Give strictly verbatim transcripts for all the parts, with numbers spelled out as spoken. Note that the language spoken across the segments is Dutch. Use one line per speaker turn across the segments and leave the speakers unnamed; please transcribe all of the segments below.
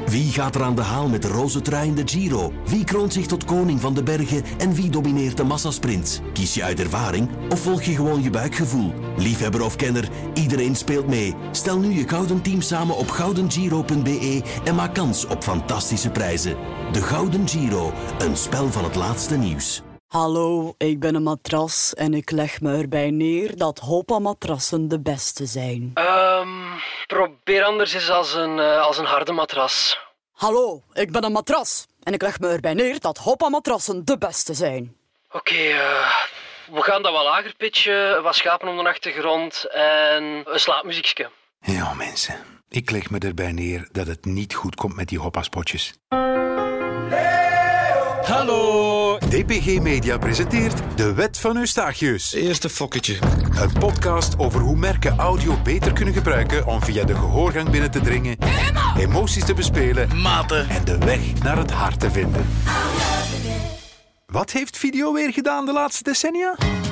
Wie gaat er aan de haal met de roze trui in de Giro? Wie kroont zich tot koning van de bergen en wie domineert de massasprints? Kies je uit ervaring of volg je gewoon je buikgevoel? Liefhebber of kenner, iedereen speelt mee. Stel nu je gouden team samen op gouden giro punt b e en maak kans op fantastische prijzen. De Gouden Giro, een spel van het laatste nieuws.
Hallo, ik ben een matras en ik leg me erbij neer dat Hoppa-matrassen de beste zijn.
Um, probeer anders eens als een, uh, als een harde matras.
Hallo, ik ben een matras en ik leg me erbij neer dat Hoppa-matrassen de beste zijn.
Oké, okay, uh, we gaan dat wat lager pitchen, wat schapen op de achtergrond en een slaapmuziekje.
Ja, mensen, ik leg me erbij neer dat het niet goed komt met die Hoppa-spotjes.
Hallo!
D P G Media presenteert De Wet van Eustachius.
Eerste fokketje.
Een podcast over hoe merken audio beter kunnen gebruiken om via de gehoorgang binnen te dringen, emoties te bespelen
Maten.
en de weg naar het hart te vinden. Wat heeft video weer gedaan de laatste decennia?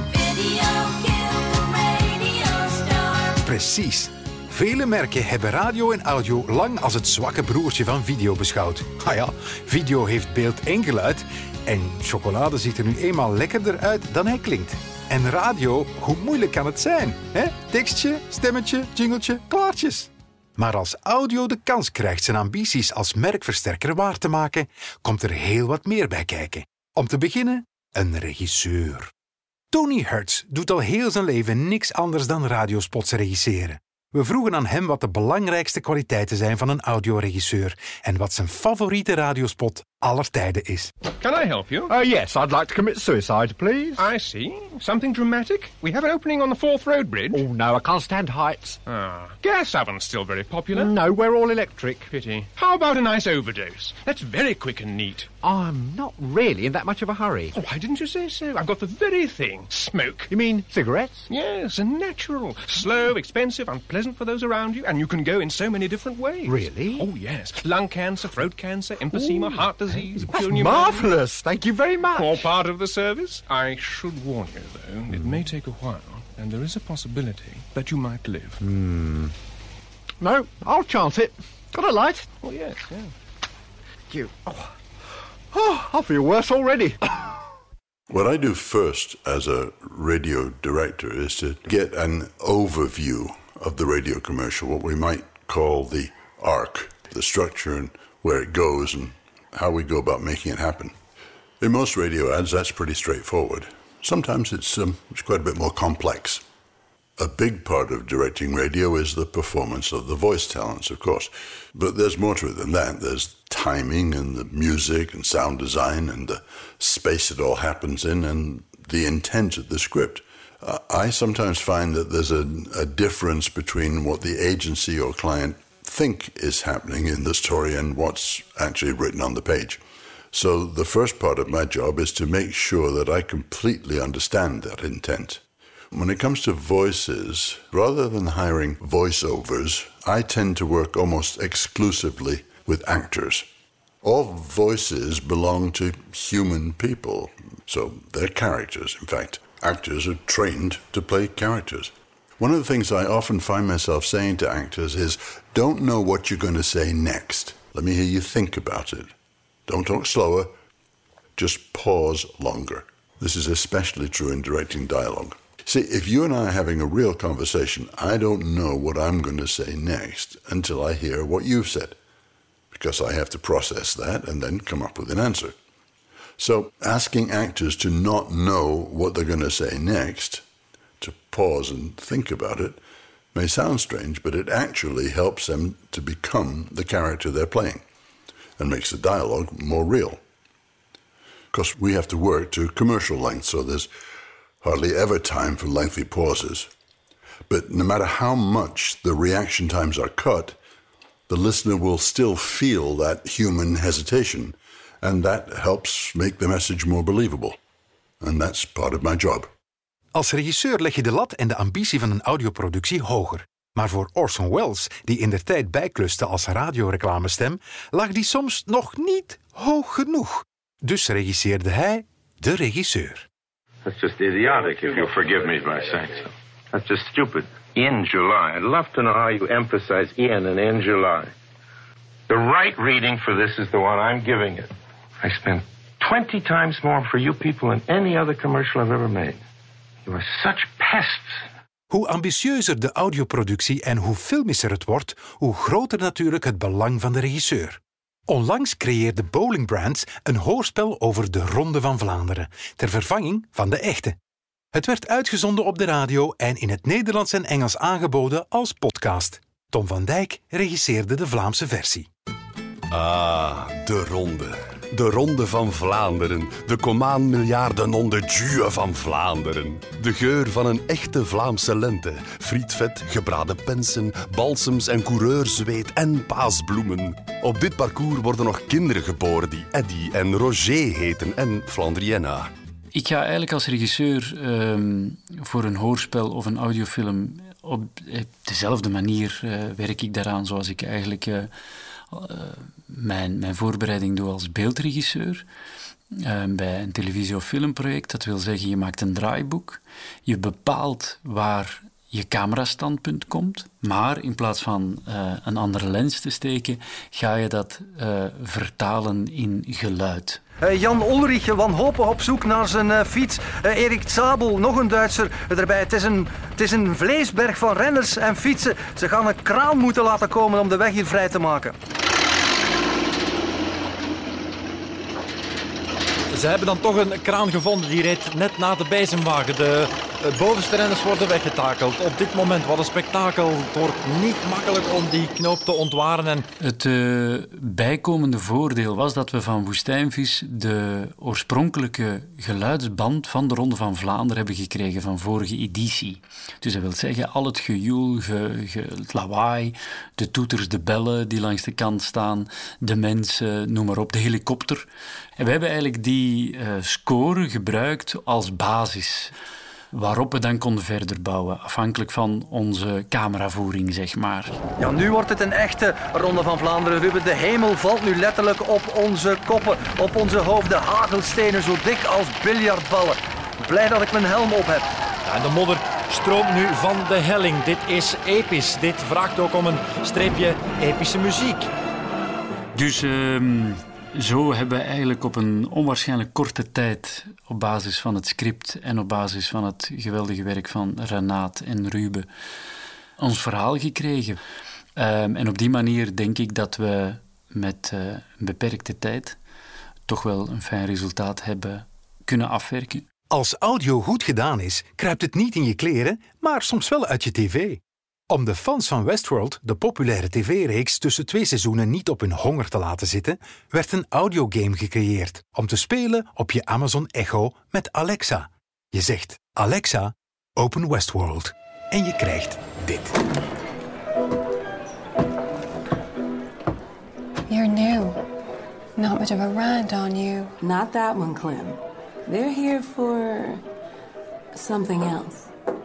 Precies. Vele merken hebben radio en audio lang als het zwakke broertje van video beschouwd. Ah ja, video heeft beeld en geluid en chocolade ziet er nu eenmaal lekkerder uit dan hij klinkt. En radio, hoe moeilijk kan het zijn? Hè? Tekstje, stemmetje, jingletje, klaartjes. Maar als audio de kans krijgt zijn ambities als merkversterker waar te maken, komt er heel wat meer bij kijken. Om te beginnen, een regisseur. Tony Hertz doet al heel zijn leven niks anders dan radiospots regisseren. We vroegen aan hem wat de belangrijkste kwaliteiten zijn van een audioregisseur en wat zijn favoriete radiospot aller tijden is.
Can I help you?
Uh, yes, I'd like to commit suicide, please.
I see. Something dramatic? We have an opening on the Fourth Road Bridge.
Oh, no, I can't stand heights.
Ah, gas ovens still very popular.
No, we're all electric.
Pity. How about a nice overdose? That's very quick and neat.
I'm not really in that much of a hurry.
Oh, why didn't you say so? I've got the very thing. Smoke.
You mean cigarettes?
Yes, and natural. Slow, expensive, unpleasant for those around you, and you can go in so many different ways.
Really?
Oh, yes. Lung cancer, throat cancer, emphysema,
Ooh.
heart disease.
That's marvellous. Thank you very much.
All part of the service. I should warn you, though, it may take a while, and there is a possibility that you might live.
Hmm. No, I'll chance it. Got a light?
Oh, yes, yeah.
You. Oh. oh, I feel worse already.
What I do first as a radio director is to get an overview of the radio commercial, what we might call the arc, the structure and where it goes and how we go about making it happen. In most radio ads, that's pretty straightforward. Sometimes it's, um, it's quite a bit more complex. A big part of directing radio is the performance of the voice talents, of course. But there's more to it than that. There's timing and the music and sound design and the space it all happens in and the intent of the script. Uh, I sometimes find that there's a, a difference between what the agency or client think is happening in the story and what's actually written on the page. So the first part of my job is to make sure that I completely understand that intent. When it comes to voices, rather than hiring voiceovers, I tend to work almost exclusively with actors. All voices belong to human people, so they're characters, in fact. Actors are trained to play characters. One of the things I often find myself saying to actors is, don't know what you're going to say next. Let me hear you think about it. Don't talk slower, just pause longer. This is especially true in directing dialogue. See, if you and I are having a real conversation, I don't know what I'm going to say next until I hear what you've said, because I have to process that and then come up with an answer. So asking actors to not know what they're going to say next, to pause and think about it, may sound strange, but it actually helps them to become the character they're playing and makes the dialogue more real. Because we have to work to commercial length, so there's hardly ever time for lengthy pauses. But no matter how much the reaction times are cut, the listener will still feel that human hesitation, and that helps make the message more believable. And that's part of my job.
Als regisseur leg je de lat en de ambitie van een audioproductie hoger. Maar voor Orson Welles, die indertijd bijkluste als radioreclamestem, lag die soms nog niet hoog genoeg. Dus regisseerde hij de regisseur.
That's just idiotic, if you'll forgive me by saying so. That's just stupid. In July. I'd love to know how you emphasize in and in July. The right reading for this is the one I'm giving it. I spent twenty times more for you people than any other commercial I've ever made. You are such pests.
Hoe ambitieuzer de audioproductie en hoe filmischer het wordt, hoe groter natuurlijk het belang van de regisseur. Onlangs creëerde Bowling Brands een hoorspel over de Ronde van Vlaanderen, ter vervanging van de echte. Het werd uitgezonden op de radio en in het Nederlands en Engels aangeboden als podcast. Tom van Dijk regisseerde de Vlaamse versie.
Ah, de Ronde. De Ronde van Vlaanderen. De Comaan miljarden de Dieu van Vlaanderen. De geur van een echte Vlaamse lente. Frietvet, gebraden pensen, balsems en coureurzweet en paasbloemen. Op dit parcours worden nog kinderen geboren die Eddy en Roger heten en Flandrienna.
Ik ga eigenlijk als regisseur um, voor een hoorspel of een audiofilm op dezelfde manier uh, werk ik daaraan zoals ik eigenlijk uh, uh, mijn, mijn voorbereiding doe als beeldregisseur. Uh, bij een televisie- of filmproject, dat wil zeggen je maakt een draaiboek, je bepaalt waar je camerastandpunt komt, maar in plaats van uh, een andere lens te steken, ga je dat uh, vertalen in geluid.
Uh, Jan Ulrich wanhopig op zoek naar zijn uh, fiets. Uh, Erik Zabel, nog een Duitser uh, erbij. Het is, een, het is een vleesberg van renners en fietsen. Ze gaan een kraan moeten laten komen om de weg hier vrij te maken.
Ze hebben dan toch een kraan gevonden die rijdt net na de bezemwagen. De uh, bovenste renners worden weggetakeld. Op dit moment, wat een spektakel. Het wordt niet makkelijk om die knoop te ontwaren. En...
Het uh, bijkomende voordeel was dat we van Woestijnvis de oorspronkelijke geluidsband van de Ronde van Vlaanderen hebben gekregen van vorige editie. Dus dat wil zeggen, al het gejoel, ge, ge, het lawaai, de toeters, de bellen die langs de kant staan, de mensen, noem maar op, de helikopter. En we hebben eigenlijk die uh, score gebruikt als basis, waarop we dan konden verder bouwen, afhankelijk van onze cameravoering, zeg maar.
Ja, nu wordt het een echte Ronde van Vlaanderen, Ruben. De hemel valt nu letterlijk op onze koppen, op onze hoofden. Hagelstenen zo dik als biljartballen. Blij dat ik mijn helm op heb.
Ja, en de modder stroomt nu van de helling. Dit is episch. Dit vraagt ook om een streepje epische muziek.
Dus... Uh... Zo hebben we eigenlijk op een onwaarschijnlijk korte tijd, op basis van het script en op basis van het geweldige werk van Renaat en Ruben, ons verhaal gekregen. Um, en op die manier denk ik dat we met uh, een beperkte tijd toch wel een fijn resultaat hebben kunnen afwerken.
Als audio goed gedaan is, kruipt het niet in je kleren, maar soms wel uit je tv. Om de fans van Westworld, de populaire tv-reeks, tussen twee seizoenen niet op hun honger te laten zitten, werd een audiogame gecreëerd om te spelen op je Amazon Echo met Alexa. Je zegt, Alexa, open Westworld. En je krijgt dit.
You're new. Not much of a ride on you.
Not that one, Clem. They're here for something else.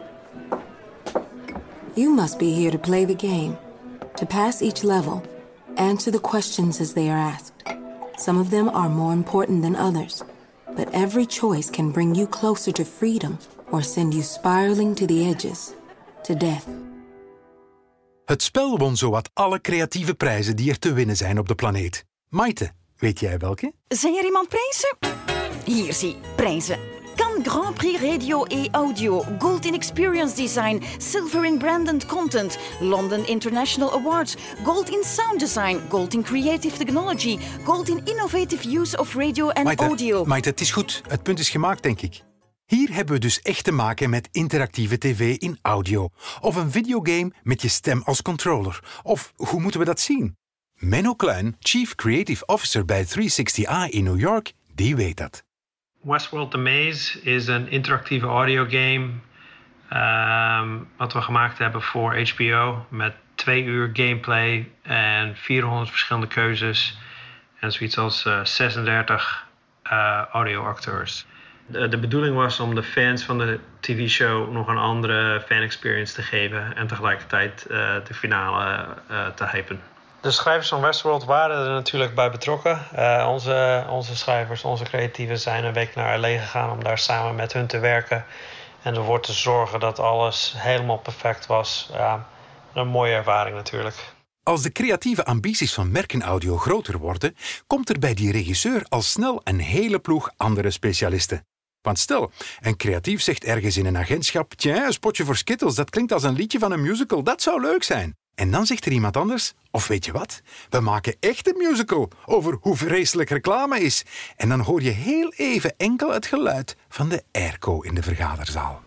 You must be here to play the game, to pass each level, answer the questions as they are asked. Some of them are more important than others, but every choice can bring you closer to freedom or send you spiraling to the edges, to death.
Het spel won zowat alle creatieve prijzen die er te winnen zijn op de planeet. Maite, weet jij welke?
Zijn er iemand prijzen? Hier zie, prijzen. Cannes Grand Prix Radio et Audio, Gold in Experience Design, Silver in Brand and Content, London International Awards, Gold in Sound Design, Gold in Creative Technology, Gold in Innovative Use of Radio and
Maite,
Audio.
Maite, het is goed. Het punt is gemaakt, denk ik. Hier hebben we dus echt te maken met interactieve tv in audio. Of een videogame met je stem als controller. Of hoe moeten we dat zien? Menno Kluin, Chief Creative Officer bij driehonderdzestig i in New York, die weet dat.
Westworld The Maze is een interactieve audiogame um, wat we gemaakt hebben voor H B O met twee uur gameplay en vierhonderd verschillende keuzes en zoiets als uh, zesendertig uh, audioacteurs. De, de bedoeling was om de fans van de T V-show nog een andere fan-experience te geven en tegelijkertijd uh, de finale uh, te hypen. De schrijvers van Westworld waren er natuurlijk bij betrokken. Uh, onze, onze schrijvers, onze creatieven zijn een week naar L A gegaan om daar samen met hun te werken. En ervoor te zorgen dat alles helemaal perfect was. Ja, een mooie ervaring natuurlijk.
Als de creatieve ambities van merkenaudio groter worden, komt er bij die regisseur al snel een hele ploeg andere specialisten. Want stel, een creatief zegt ergens in een agentschap, tja, een spotje voor Skittles, dat klinkt als een liedje van een musical, dat zou leuk zijn. En dan zegt er iemand anders, of weet je wat, we maken echt een musical over hoe vreselijk reclame is. En dan hoor je heel even enkel het geluid van de airco in de vergaderzaal.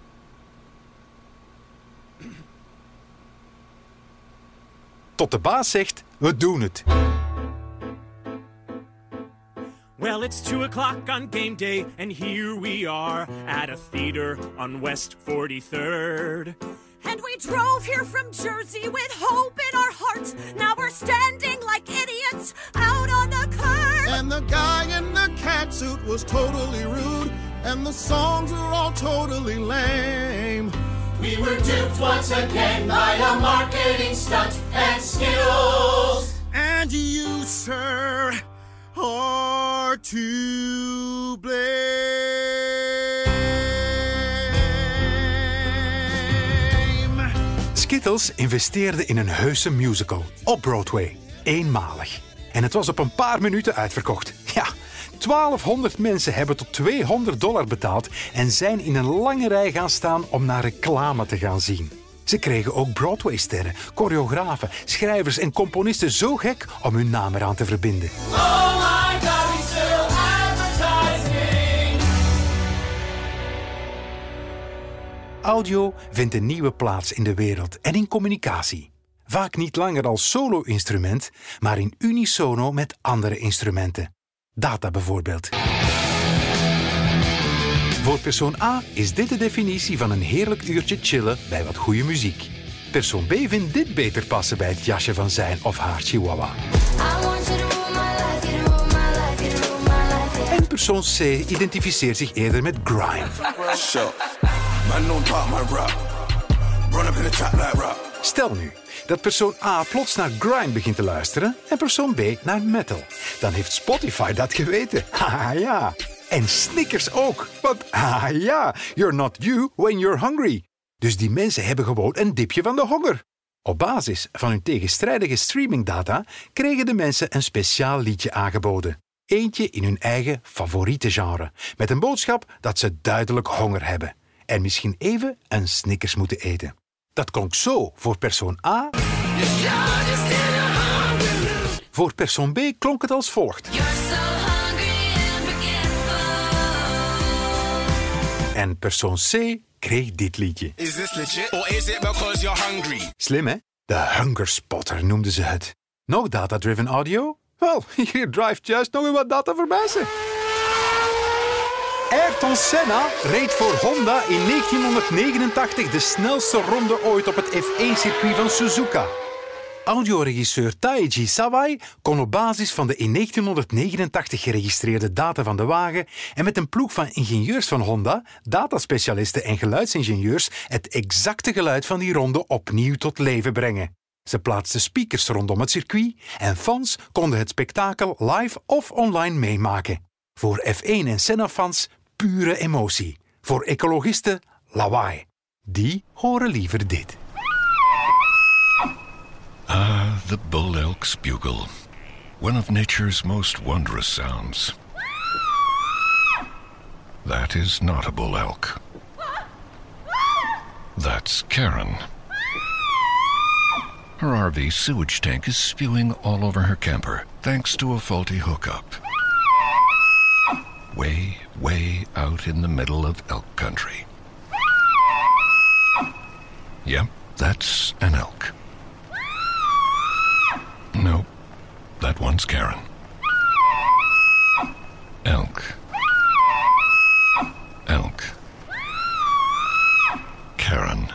Tot de baas zegt, we doen het.
Well, it's two o'clock on game day, and here we are at a theater on West forty-third.
And we drove here from Jersey with hope in our hearts. Now we're standing like idiots out on the curb.
And the guy in the catsuit was totally rude, and the songs were all totally lame.
We were duped once again by a marketing stunt and Skittles.
And you, sir, are to blame.
Skittles investeerde in een heuse musical op Broadway. Eenmalig. En het was op een paar minuten uitverkocht. Ja, twaalfhonderd mensen hebben tot tweehonderd dollar betaald en zijn in een lange rij gaan staan om naar reclame te gaan zien. Ze kregen ook Broadway-sterren, choreografen, schrijvers en componisten zo gek om hun naam eraan te verbinden.
Oh my God, we still advertising.
Audio vindt een nieuwe plaats in de wereld en in communicatie. Vaak niet langer als solo-instrument, maar in unisono met andere instrumenten. Data bijvoorbeeld. Voor persoon A is dit de definitie van een heerlijk uurtje chillen bij wat goede muziek. Persoon B vindt dit beter passen bij het jasje van zijn of haar chihuahua. En persoon C identificeert zich eerder met grime. Stel nu dat persoon A plots naar grime begint te luisteren en persoon B naar metal. Dan heeft Spotify dat geweten. Haha ja. En Snickers ook. Want haha ja, you're not you when you're hungry. Dus die mensen hebben gewoon een dipje van de honger. Op basis van hun tegenstrijdige streamingdata kregen de mensen een speciaal liedje aangeboden. Eentje in hun eigen favoriete genre. Met een boodschap dat ze duidelijk honger hebben. En misschien even een Snickers moeten eten. Dat klonk zo voor persoon A. Voor persoon B klonk het als volgt. En persoon C kreeg dit liedje.
Is this legit or is it because you're hungry?
Slim, hè? De Hunger Spotter noemden ze het. Nog data-driven audio? Wel, hier drijft juist nog een wat data voorbij ze. Ayrton Senna reed voor Honda in negentienhonderdnegenentachtig de snelste ronde ooit op het F één circuit van Suzuka. Audioregisseur Taiji Sawai kon op basis van de in negentienhonderdnegenentachtig geregistreerde data van de wagen en met een ploeg van ingenieurs van Honda, dataspecialisten en geluidsingenieurs het exacte geluid van die ronde opnieuw tot leven brengen. Ze plaatsten speakers rondom het circuit en fans konden het spektakel live of online meemaken. Voor F één en Senna-fans pure emotie. Voor ecologisten lawaai. Die horen liever dit.
Ah, the bull elk's bugle. One of nature's most wondrous sounds. That is not a bull elk. That's Karen. Her R V sewage tank is spewing all over her camper, thanks to a faulty hookup. Way, way out in the middle of elk country. Yep, that's an elk. Nope, that one's Karen. Elk. Elk. Karen.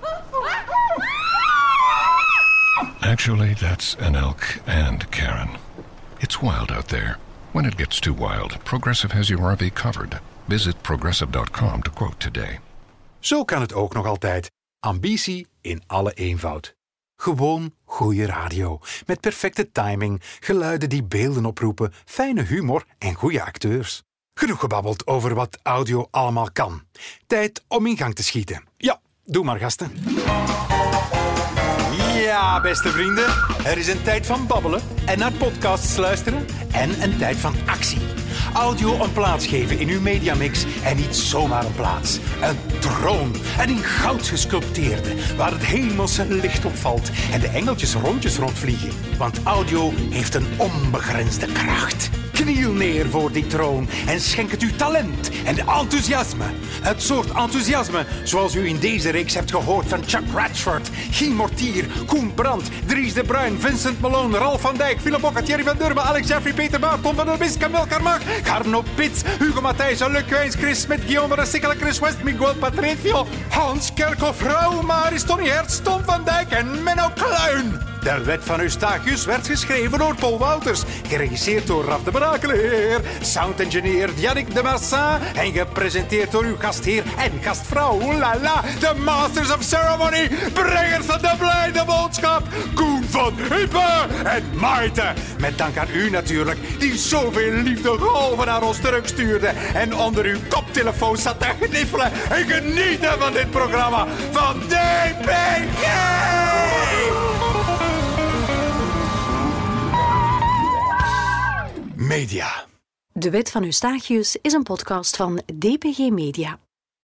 Actually, that's an elk and Karen. It's wild out there. When it gets too wild, Progressive has your R V covered. Visit progressive dot com to quote today.
Zo kan het ook nog altijd. Ambitie in alle eenvoud. Gewoon goede radio. Met perfecte timing, geluiden die beelden oproepen, fijne humor en goede acteurs. Genoeg gebabbeld over wat audio allemaal kan. Tijd om in gang te schieten. Ja, doe maar gasten.
Ja,
Ja, beste vrienden, er is een tijd van babbelen en naar podcasts luisteren en een tijd van actie. Audio een plaats geven in uw mediamix en niet zomaar een plaats. Een troon, en in goud gesculpteerde, waar het hemelse licht op valt en de engeltjes rondjes rondvliegen. Want audio heeft een onbegrensde kracht. Kniel neer voor die troon en schenk het uw talent en enthousiasme. Het soort enthousiasme zoals u in deze reeks hebt gehoord van Chuck Ratchford, Guy Mortier, Koen Brandt, Dries de Bruin, Vincent Malone, Ralf van Dijk, Philip Bokka, Thierry van Durmen, Alex Jeffrey, Peter Baart, Tom van der Bis, Camille Carmach, Garno Pits, Hugo Matthijs, Luc Wijns, Chris Smit, Guillaume Rasikkele, Chris West, Miguel Patricio, Hans Kerkhoff, Rauw Maris, Tony Hertz, Tom van Dijk en Menno Kluin. De wet van Eustachius werd geschreven door Paul Wouters, geregisseerd door Raf de Brakeleer, soundengineer Yannick de Massin en gepresenteerd door uw gastheer en gastvrouw, oelala, de Masters of Ceremony, brengers van de blijde boodschap, Koen van Hype en Maite. Met dank aan u natuurlijk, die zoveel liefde golven naar ons terugstuurde en onder uw koptelefoon zat te gniffelen en genieten van dit programma van D P G! Media.
De Wet van Eustachius is een podcast van D P G Media.